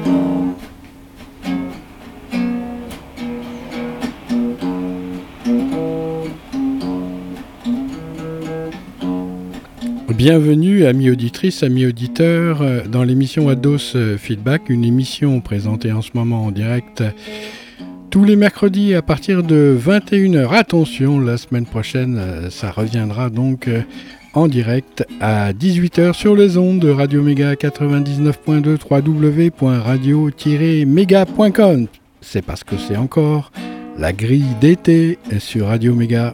Bienvenue, amis auditrices, amis auditeurs, dans l'émission Ados Feedback, une émission présentée en ce moment en direct tous les mercredis à partir de 21h. Attention, la semaine prochaine, ça reviendra donc en direct à 18h sur les ondes de Radio Méga 99.2 www.radio-méga.com. C'est parce que c'est encore la grille d'été sur Radio Méga.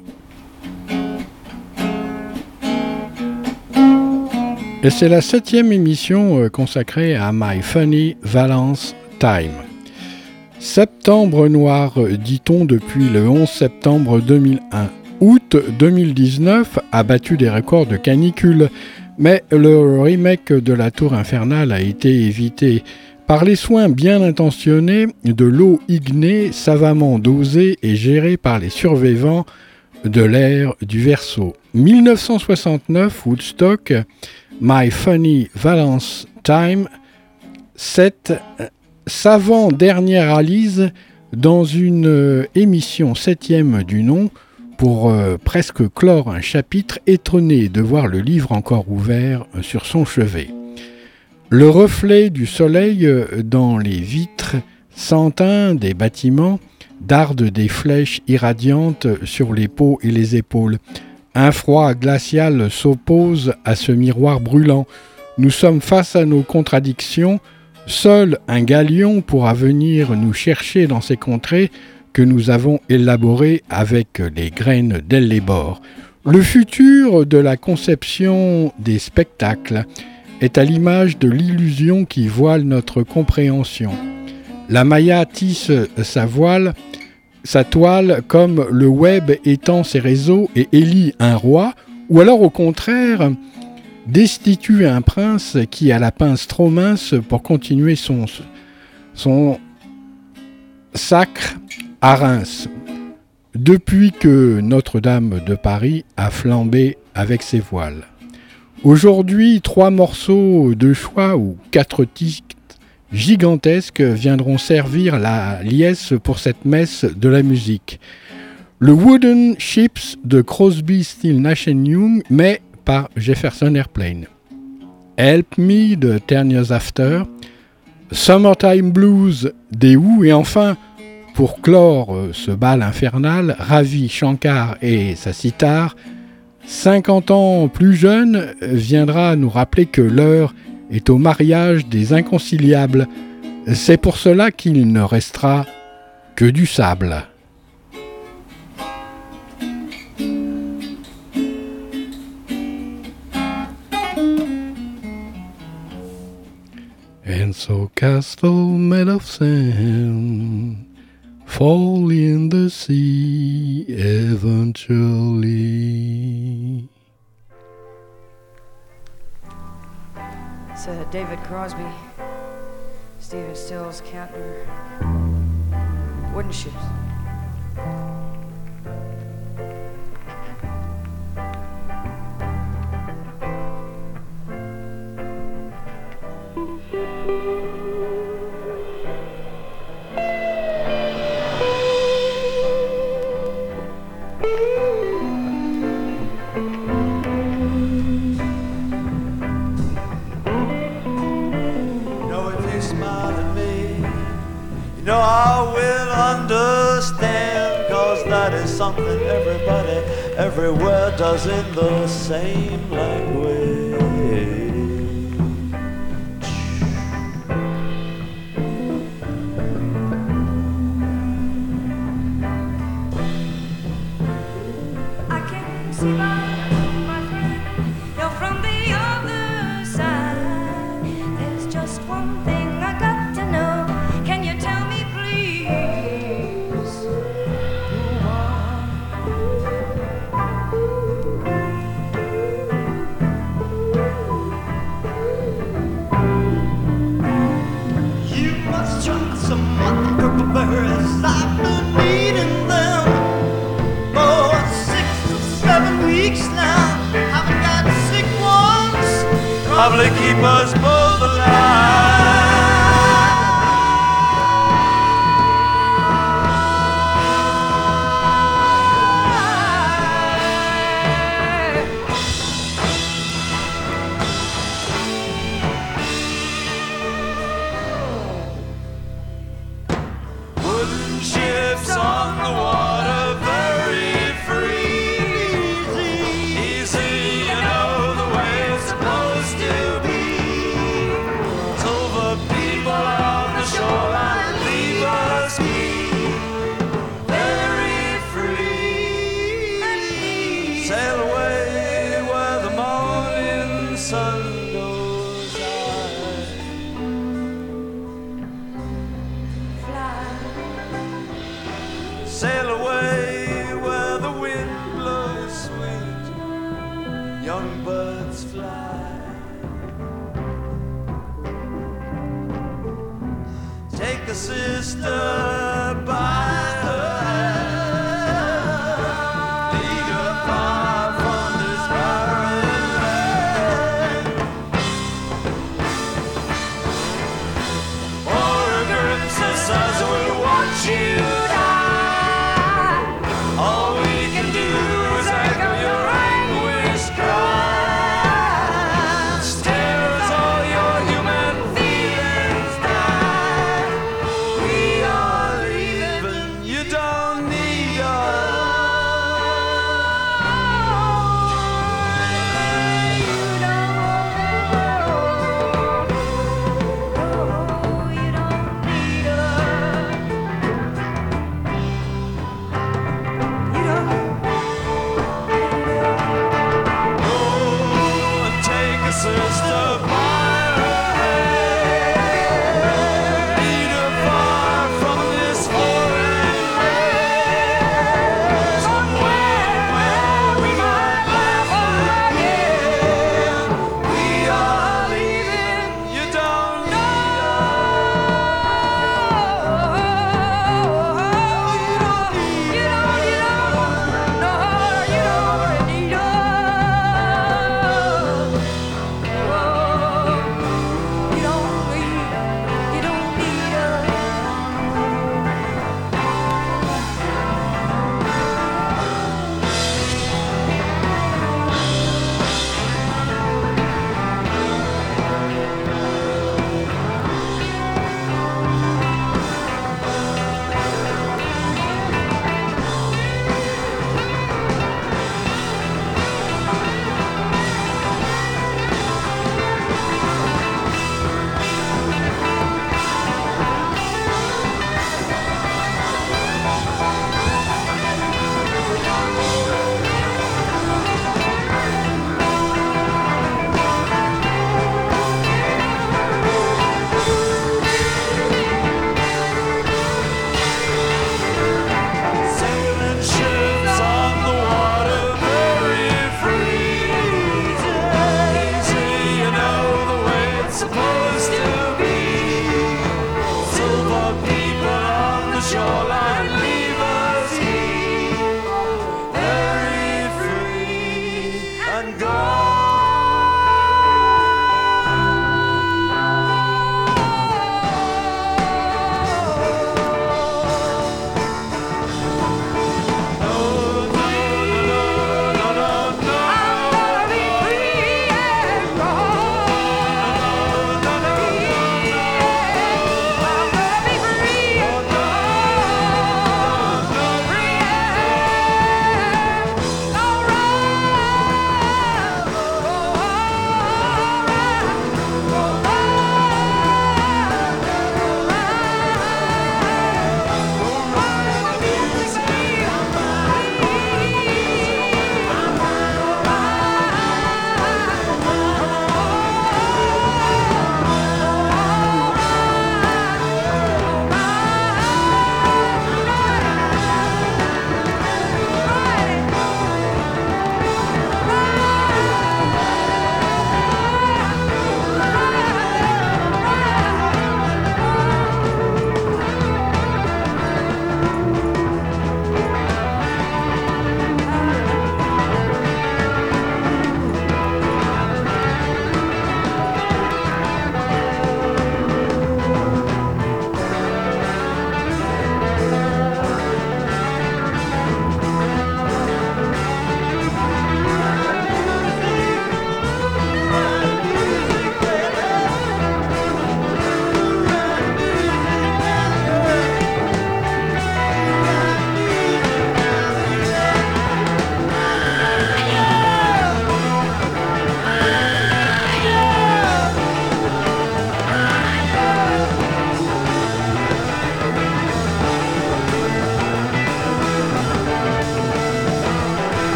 Et c'est la 7e émission consacrée à My Funny Valence Time. Septembre noir, dit-on depuis le 11 septembre 2001. Août 2019 a battu des records de canicule, mais le remake de la Tour Infernale a été évité par les soins bien intentionnés de l'eau ignée savamment dosée et gérée par les survivants de l'ère du Verseau. 1969, Woodstock, My Funny Valence Time, cette savant-dernière analyse dans une émission 7e du nom pour presque clore un chapitre étonné de voir le livre encore ouvert sur son chevet. Le reflet du soleil dans les vitres sans-teint des bâtiments darde des flèches irradiantes sur les peaux et les épaules. Un froid glacial s'oppose à ce miroir brûlant. Nous sommes face à nos contradictions. Seul un galion pourra venir nous chercher dans ces contrées que nous avons élaborées avec les graines d'Ellébore. Le futur de la conception des spectacles est à l'image de l'illusion qui voile notre compréhension. La Maya tisse sa toile comme le web étend ses réseaux et élit un roi, ou alors au contraire destitue un prince qui a la pince trop mince pour continuer son sacre à Reims, depuis que Notre-Dame de Paris a flambé avec ses voiles. Aujourd'hui, 3 morceaux de choix ou 4 titres gigantesques viendront servir la liesse pour cette messe de la musique. Le Wooden Ships de Crosby, Stills, Nash & Young, mais par Jefferson Airplane. Help Me de 10 Years After, Summertime Blues des Who, et enfin, pour clore ce bal infernal, Ravi Shankar et sa sitar, 50 ans plus jeune, viendra nous rappeler que l'heure est au mariage des inconciliables. C'est pour cela qu'il ne restera que du sable. And so castle made of sand fall in the sea eventually. It's David Crosby, Stephen Stills, Cantner, Wooden Ships. No, I will understand, 'cause that is something everybody everywhere does in the same language. I can see my friend, you're from the other side. There's just one thing I got to know. Can you tell me, please? You must try some other purple berries. I've been eating them for 6 or 7 weeks now. Haven't got sick once. Probably keep us both alive. a sister by her. Lead her far from this barren land. Or a princess will watch you die. All we can do is echo your anguish cries. Tell us all your human feelings die. We are leaving, you don't need us. You don't need us.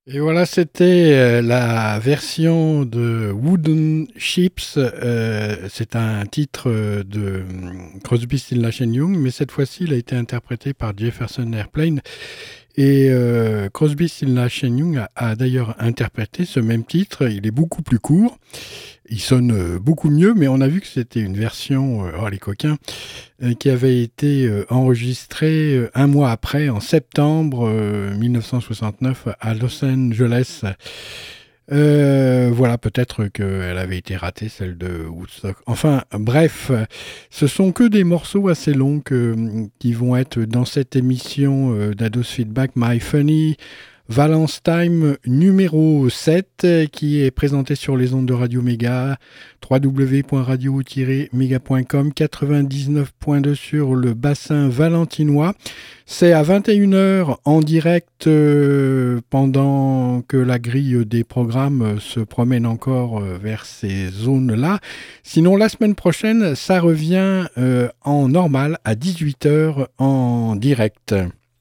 Et voilà, c'était la version de Wooden Ships. C'est un titre de Crosby, Stills, Nash Young, mais cette fois-ci, il a été interprété par Jefferson Airplane. Et Crosby, Stills, Nash Young a d'ailleurs interprété ce même titre. Il est beaucoup plus court. Il sonne beaucoup mieux, mais on a vu que c'était une version, oh les coquins, qui avait été enregistrée un mois après, en septembre 1969, à Los Angeles. Voilà, peut-être qu'elle avait été ratée, celle de Woodstock. Enfin, bref, ce sont que des morceaux assez longs qui vont être dans cette émission d'Ados Feedback My Funny Valence Time numéro 7, qui est présenté sur les ondes de Radio Méga, www.radio-méga.com, 99.2 sur le bassin valentinois. C'est à 21h en direct pendant que la grille des programmes se promène encore vers ces zones-là. Sinon, la semaine prochaine, ça revient en normal à 18h en direct.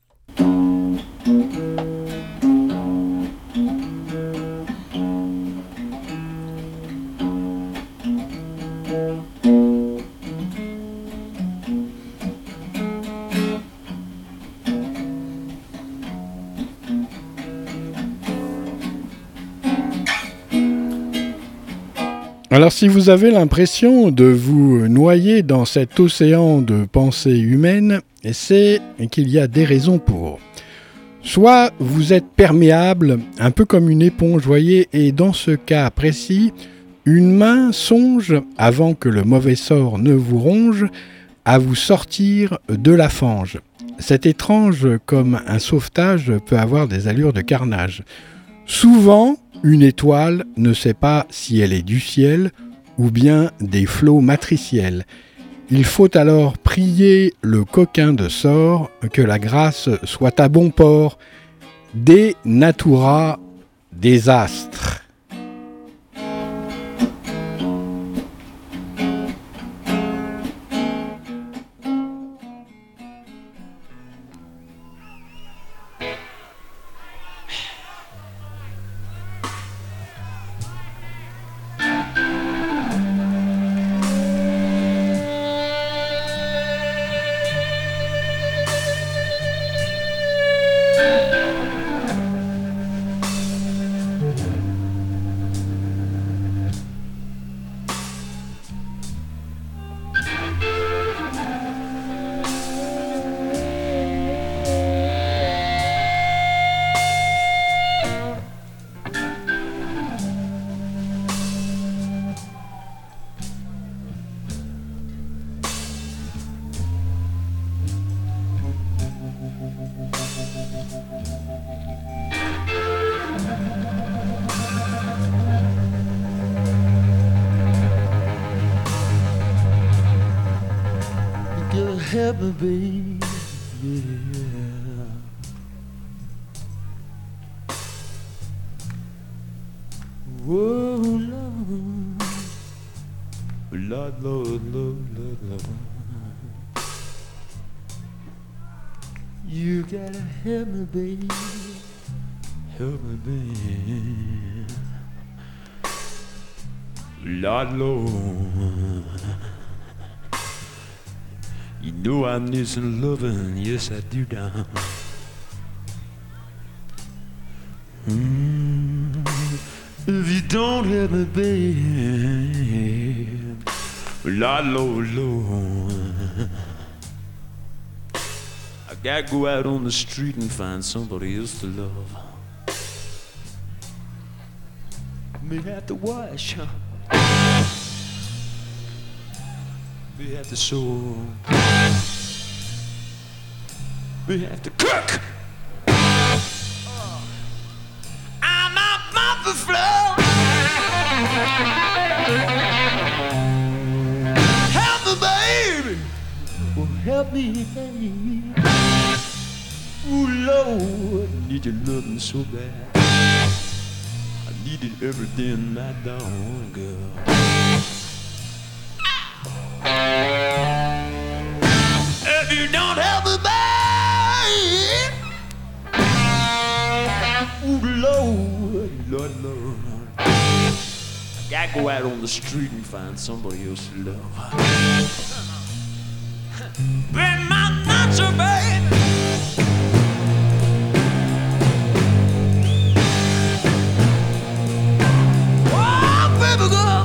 Alors si vous avez l'impression de vous noyer dans cet océan de pensées humaines, c'est qu'il y a des raisons pour. Soit vous êtes perméable, un peu comme une éponge, voyez, et dans ce cas précis, une main songe, avant que le mauvais sort ne vous ronge, à vous sortir de la fange. C'est étrange comme un sauvetage peut avoir des allures de carnage. Souvent, une étoile ne sait pas si elle est du ciel ou bien des flots matriciels. Il faut alors prier le coquin de sort que la grâce soit à bon port. De natura désastre. Help me, baby, yeah. Whoa, Lord, Lord, Lord, Lord, Lord. You gotta help me, baby, help me, baby. Lord, Lord. You know I need some loving, yes I do, down. If you don't help me, babe, Lord, Lord, Lord, I gotta go out on the street and find somebody else to love. May have to wash, huh? We have to sew. We have to cook. I'm out on the floor. Help me, baby. Oh, help me, baby. Oh, Lord, I need your loving so bad. I need it every day and night, down, girl. If you don't help me, babe, Ooh, Lord, Lord, Lord. I gotta go out on the street and find somebody else to love. Bring my nacho, baby. Oh, baby girl.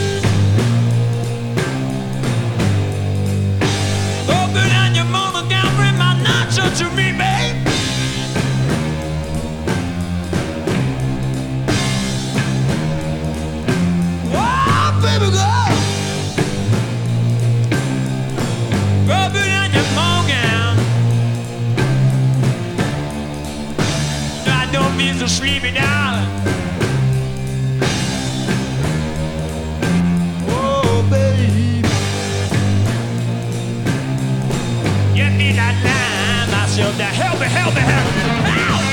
Open down your mama down, bring my nacho to me, babe. Oh, baby girl. Rub it on your mom gown. No, I don't mean to sleepy, darling. Oh, baby. Get me that line, myself, that help me, help me, help me. Ow!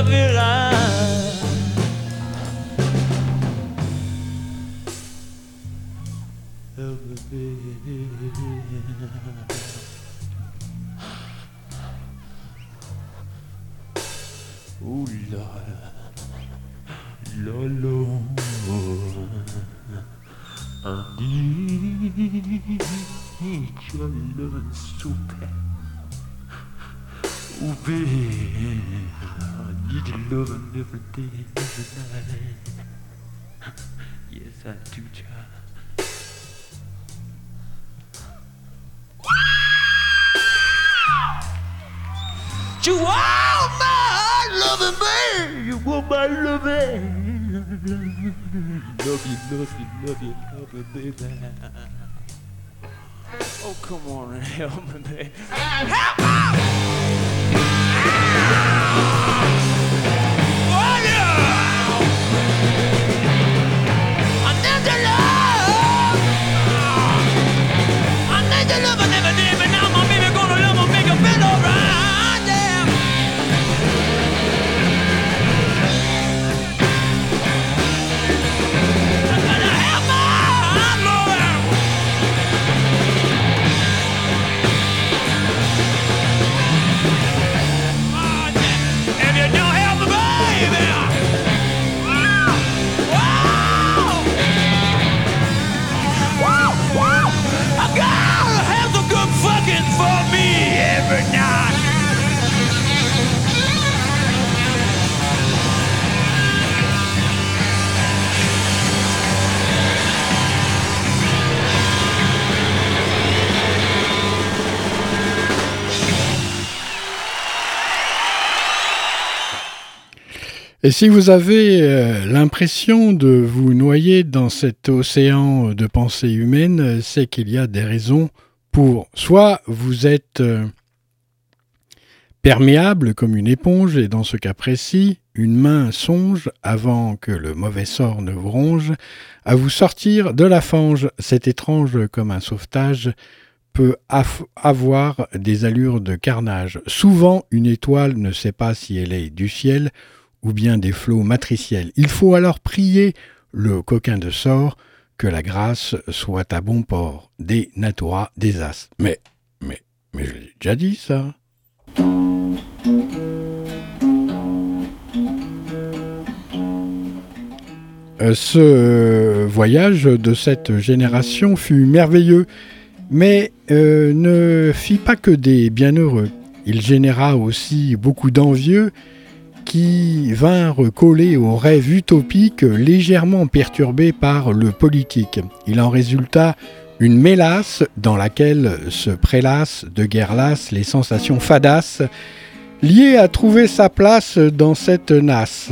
love you line. Love me, baby. Oh Lord, Lord, Lord, I need your love so bad. Oh baby, I need your loving every day and every night. Yes, I do, child. You are my loving baby. You are my loving. Love you, love you, love you, love you, baby. Oh, come on and help me, baby. Help me! Oh, yeah! I need your love. I need your love and every day, but now my baby gonna love me, make you feel alright, yeah. I gotta have my love. Oh, yeah. If you don't have the baby, I gotta have the good fucking for me every night. Et si vous avez l'impression de vous noyer dans cet océan de pensées humaines, c'est qu'il y a des raisons pour. Soit vous êtes perméable comme une éponge, et dans ce cas précis, une main songe, avant que le mauvais sort ne vous ronge, à vous sortir de la fange. C'est étrange comme un sauvetage peut avoir des allures de carnage. Souvent, une étoile ne sait pas si elle est du ciel ou bien des flots matriciels. Il faut alors prier le coquin de sort que la grâce soit à bon port, des natura des as. Mais je l'ai déjà dit, ça. Ce voyage de cette génération fut merveilleux, mais ne fit pas que des bienheureux. Il généra aussi beaucoup d'envieux qui vinrent coller aux rêves utopiques légèrement perturbés par le politique. Il en résulta une mélasse dans laquelle se prélassent de guerre lasse les sensations fadasses liées à trouver sa place dans cette nasse.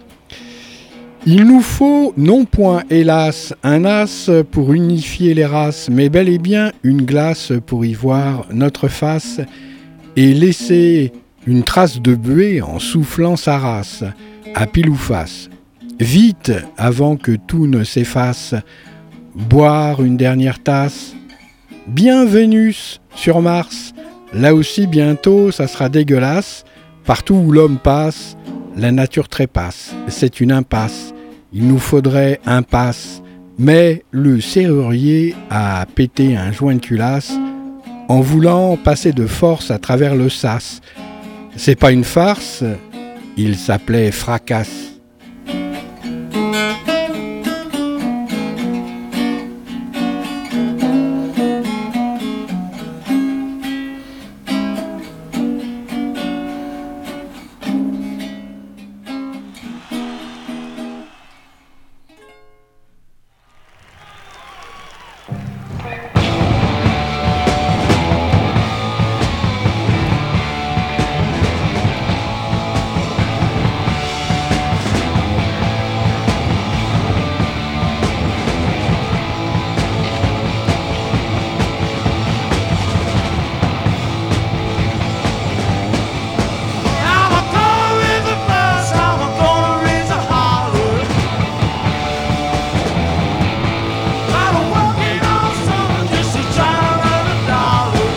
Il nous faut, non point hélas, un as pour unifier les races, mais bel et bien une glace pour y voir notre face et laisser une trace de buée en soufflant sa race, à pile ou face. Vite, avant que tout ne s'efface, boire une dernière tasse. Bien Vénus sur Mars, là aussi bientôt ça sera dégueulasse. Partout où l'homme passe, la nature trépasse. C'est une impasse. Il nous faudrait un passe. Mais le serrurier a pété un joint de culasse en voulant passer de force à travers le sas. C'est pas une farce, il s'appelait Fracasse.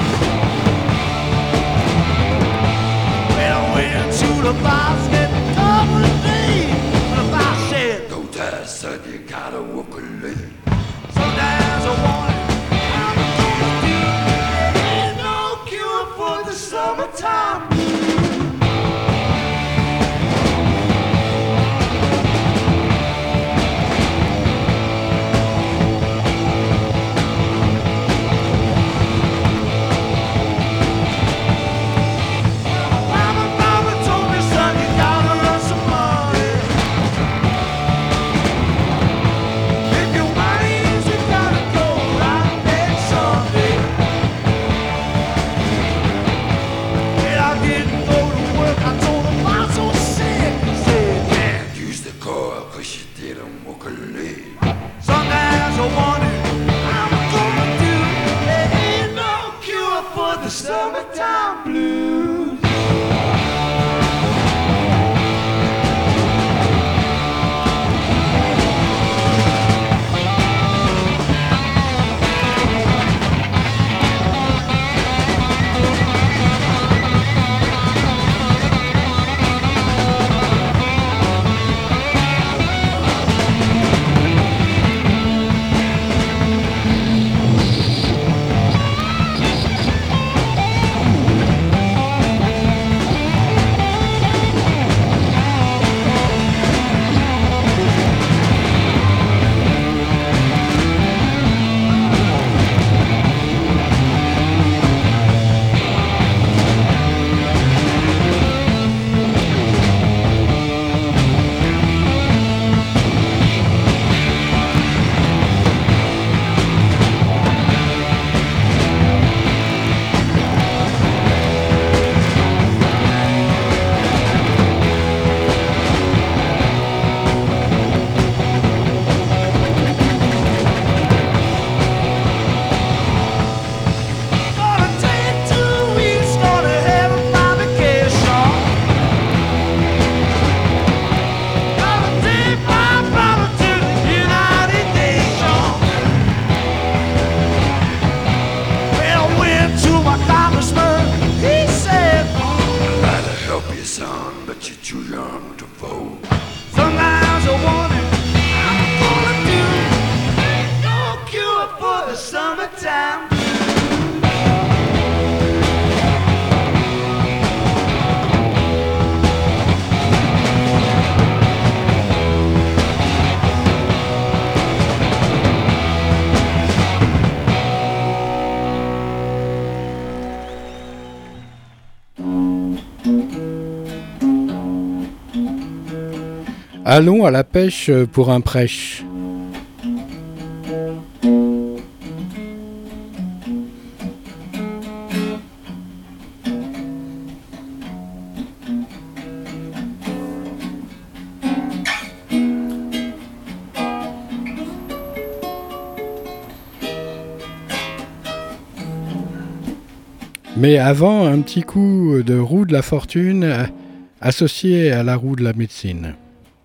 the basket. son, you gotta walk a little. Sometimes I wonder how I'm gonna do. There ain't no cure for the summertime. Mama told me, son, you gotta earn some money. If your money's, you gotta go right next Sunday. And I didn't go to work. I told him I'm so sick. He said, Can't use the car 'cause you didn't walk a little. sometimes I wonder how I'm gonna do. There ain't no cure for the summertime blues. Gonna take 2 weeks, gonna have my vacation. Gonna take my brother to the United Nations. Well, I went to my congressman, he said, I'd like to help you, son, but you're too young to vote. sometimes I wonder how I'm gonna do. Ain't no cure for the summertime. Allons à la pêche pour un prêche. Mais avant, un petit coup de roue de la fortune associé à la roue de la médecine.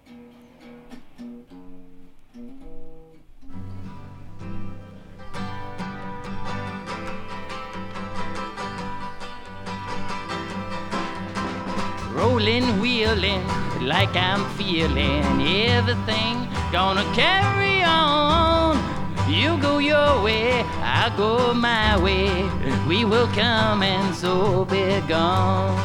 Rolling, wheeling, like I'm feeling everything gonna carry on. You go your way, I go my way. We will come and so be gone.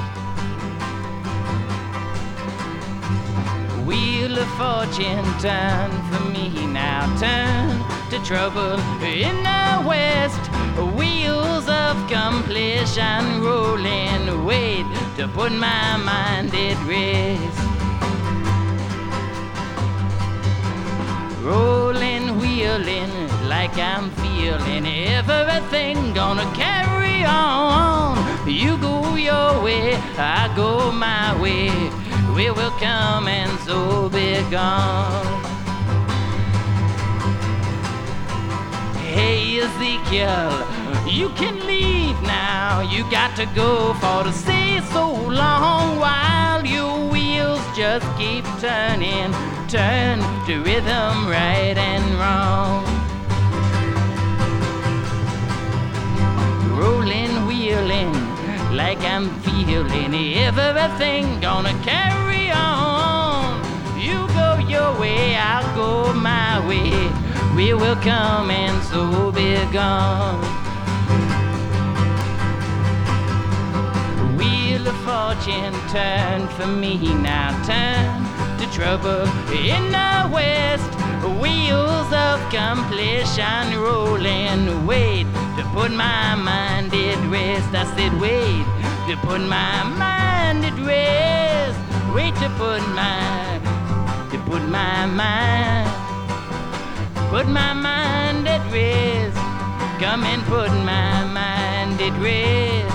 Wheel of fortune, turn for me now, turn to trouble in the west. Wheels of completion rolling, wait to put my mind at rest. Rolling, wheeling, like I'm feeling everything gonna carry on. You go your way, I go my way. We will come and so be gone. Hey Ezekiel, you can leave now. You got to go for to stay so long while your wheels just keep turning. Turn to rhythm right and wrong. Rolling, wheeling, like I'm feeling everything gonna carry on. You go your way, I'll go my way. We will come and so be gone. Wheel of fortune turn for me now, turn to trouble in the west. Wheels of completion rolling, wait to put my mind at rest. I said wait to put my mind at rest. Wait to put my mind at rest. Come and put my mind at rest.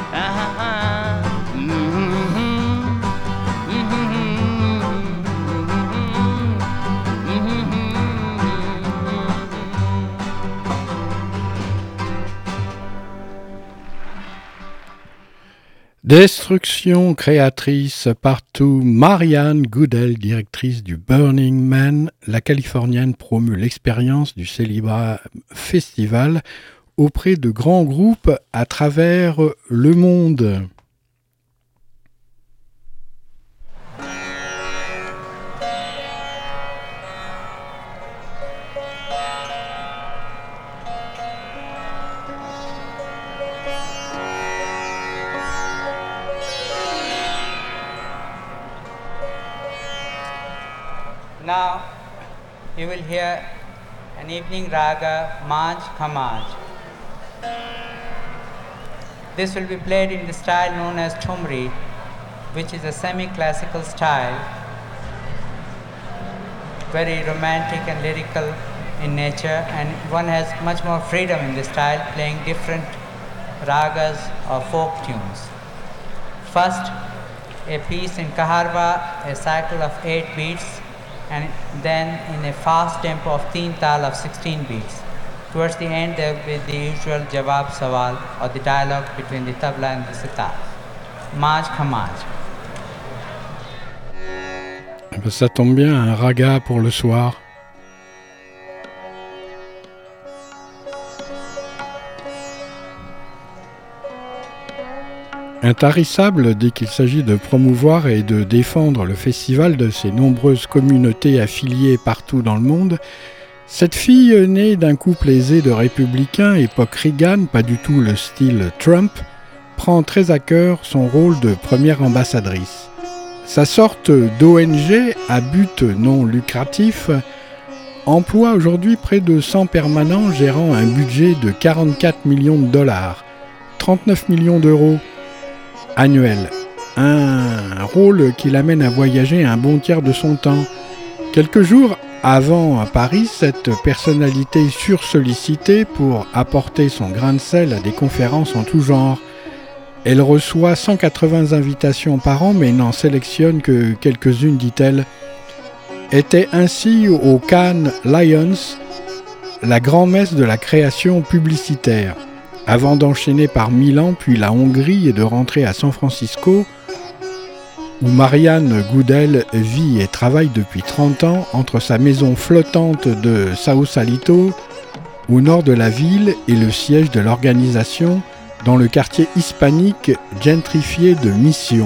Destruction créatrice partout, Marianne Goodell, directrice du Burning Man, la Californienne promeut l'expérience du Célibrat Festival auprès de grands groupes à travers le monde. Now you will hear an evening raga, Maj Khamaj. This will be played in the style known as Thumri, which is a semi-classical style, very romantic and lyrical in nature, and one has much more freedom in the style, playing different ragas or folk tunes. First, a piece in Kaharva, a cycle of 8 beats, and then in a fast tempo of Teen Tal of 16 beats. Towards the end, there will be the usual Jawab Sawal, or the dialogue between the tabla and the sitar. Maj Khamaj. Ça tombe bien, un raga pour le soir. Intarissable dès qu'il s'agit de promouvoir et de défendre le festival de ses nombreuses communautés affiliées partout dans le monde, cette fille née d'un couple aisé de républicains, époque Reagan, pas du tout le style Trump, prend très à cœur son rôle de première ambassadrice. Sa sorte d'ONG à but non lucratif emploie aujourd'hui près de 100 permanents gérant un budget de 44 millions de dollars, 39 millions d'euros annuel. Un rôle qui l'amène à voyager un bon tiers de son temps. Quelques jours avant à Paris, cette personnalité sursollicitée pour apporter son grain de sel à des conférences en tout genre. Elle reçoit 180 invitations par an mais n'en sélectionne que quelques-unes, dit-elle. Était ainsi au Cannes Lions la grand-messe de la création publicitaire, avant d'enchaîner par Milan, puis la Hongrie et de rentrer à San Francisco, où Marianne Goodell vit et travaille depuis 30 ans entre sa maison flottante de Sausalito, au nord de la ville, et le siège de l'organisation dans le quartier hispanique gentrifié de Mission.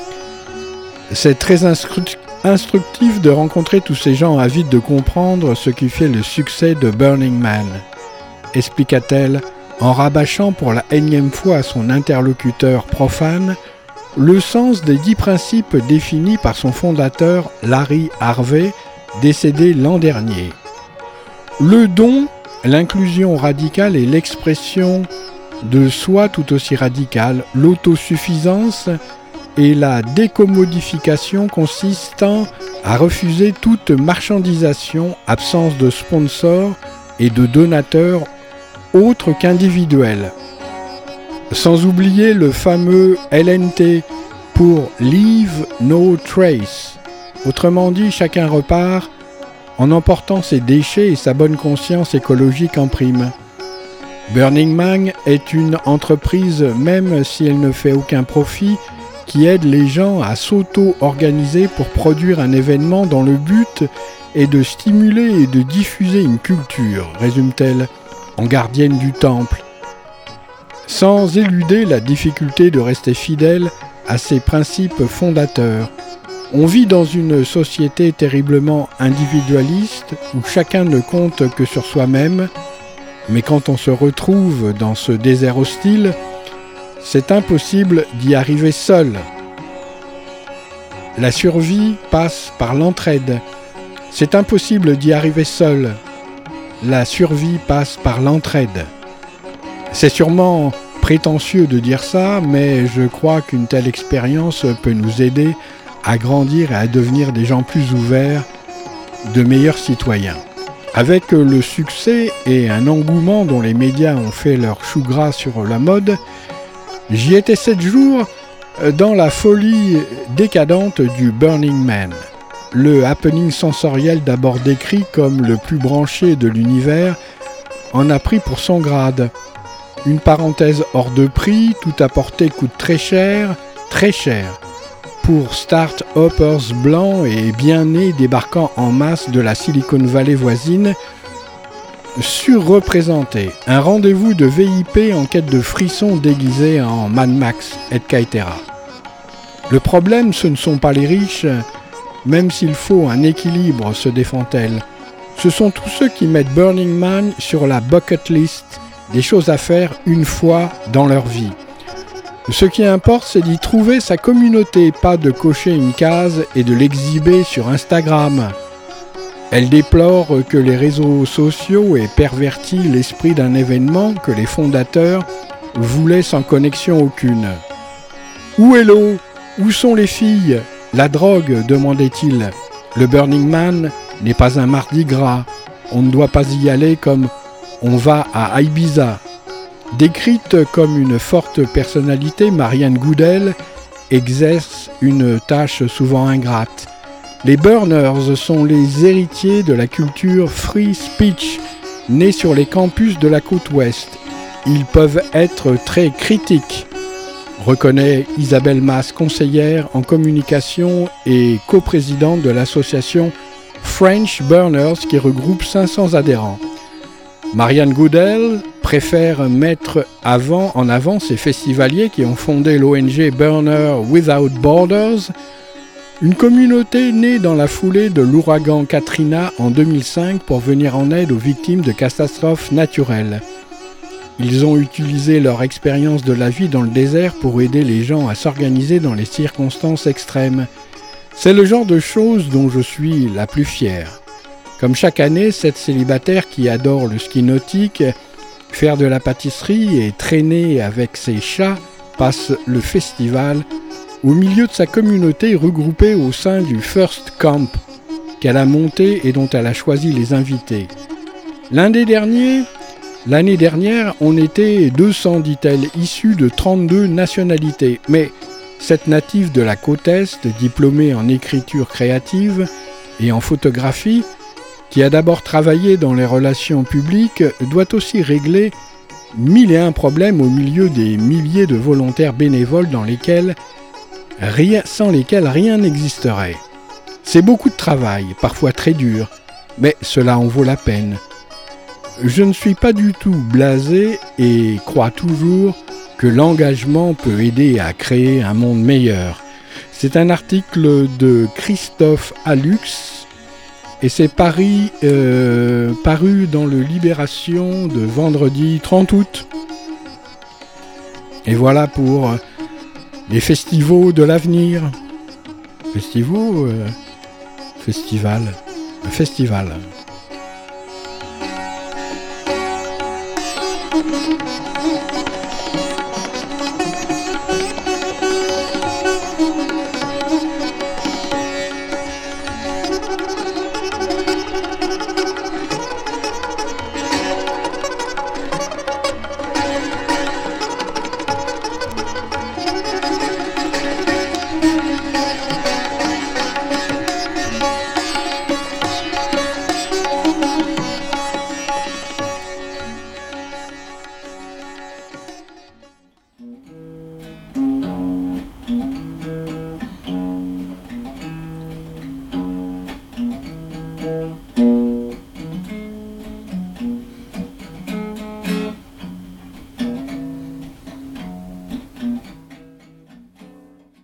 C'est très instructif de rencontrer tous ces gens avides de comprendre ce qui fait le succès de Burning Man, expliqua-t-elle, en rabâchant pour la énième fois à son interlocuteur profane le sens des 10 principes définis par son fondateur Larry Harvey, décédé l'an dernier. Le don, l'inclusion radicale et l'expression de soi tout aussi radicale, l'autosuffisance et la décommodification consistant à refuser toute marchandisation, absence de sponsors et de donateurs autre qu'individuel. Sans oublier le fameux LNT pour Leave No Trace. Autrement dit, chacun repart en emportant ses déchets et sa bonne conscience écologique en prime. Burning Man est une entreprise, même si elle ne fait aucun profit, qui aide les gens à s'auto-organiser pour produire un événement dont le but est de stimuler et de diffuser une culture, résume-t-elle, en gardienne du temple, sans éluder la difficulté de rester fidèle à ses principes fondateurs. On vit dans une société terriblement individualiste où chacun ne compte que sur soi-même, mais quand on se retrouve dans ce désert hostile, c'est impossible d'y arriver seul. La survie passe par l'entraide. C'est impossible d'y arriver seul. La survie passe par l'entraide. C'est sûrement prétentieux de dire ça, mais je crois qu'une telle expérience peut nous aider à grandir et à devenir des gens plus ouverts, de meilleurs citoyens. Avec le succès et un engouement dont les médias ont fait leur chou gras sur la mode, j'y étais 7 jours dans la folie décadente du Burning Man. Le happening sensoriel d'abord décrit comme le plus branché de l'univers en a pris pour son grade. Une parenthèse hors de prix, tout apporté coûte très cher, pour start-hoppers blancs et bien nés débarquant en masse de la Silicon Valley voisine, surreprésentés. Un rendez-vous de VIP en quête de frissons déguisés en Mad Max, etc. Le problème, ce ne sont pas les riches, même s'il faut un équilibre, se défend-elle. Ce sont tous ceux qui mettent Burning Man sur la bucket list, des choses à faire une fois dans leur vie. Ce qui importe, c'est d'y trouver sa communauté, pas de cocher une case et de l'exhiber sur Instagram. Elle déplore que les réseaux sociaux aient perverti l'esprit d'un événement que les fondateurs voulaient sans connexion aucune. Où est l'eau ? Où sont les filles ? La drogue, demandait-il. Le Burning Man n'est pas un mardi gras. On ne doit pas y aller comme on va à Ibiza. Décrite comme une forte personnalité, Marianne Goodell exerce une tâche souvent ingrate. Les burners sont les héritiers de la culture free speech, née sur les campus de la côte ouest. Ils peuvent être très critiques, reconnaît Isabelle Mas, conseillère en communication et coprésidente de l'association French Burners qui regroupe 500 adhérents. Marianne Goodell préfère mettre en avant ces festivaliers qui ont fondé l'ONG Burner Without Borders, une communauté née dans la foulée de l'ouragan Katrina en 2005 pour venir en aide aux victimes de catastrophes naturelles. Ils ont utilisé leur expérience de la vie dans le désert pour aider les gens à s'organiser dans les circonstances extrêmes. C'est le genre de choses dont je suis la plus fière. Comme chaque année, cette célibataire qui adore le ski nautique, faire de la pâtisserie et traîner avec ses chats passe le festival au milieu de sa communauté regroupée au sein du First Camp qu'elle a monté et dont elle a choisi les invités. L'année dernière, on était 200, dit-elle, issus de 32 nationalités. Mais cette native de la côte Est, diplômée en écriture créative et en photographie, qui a d'abord travaillé dans les relations publiques, doit aussi régler 1001 problèmes au milieu des milliers de volontaires bénévoles sans lesquels rien n'existerait. C'est beaucoup de travail, parfois très dur, mais cela en vaut la peine. Je ne suis pas du tout blasé et crois toujours que l'engagement peut aider à créer un monde meilleur. C'est un article de Christophe Alux et c'est paru dans le Libération de vendredi 30 août. Et voilà pour les festivals de l'avenir. Festival.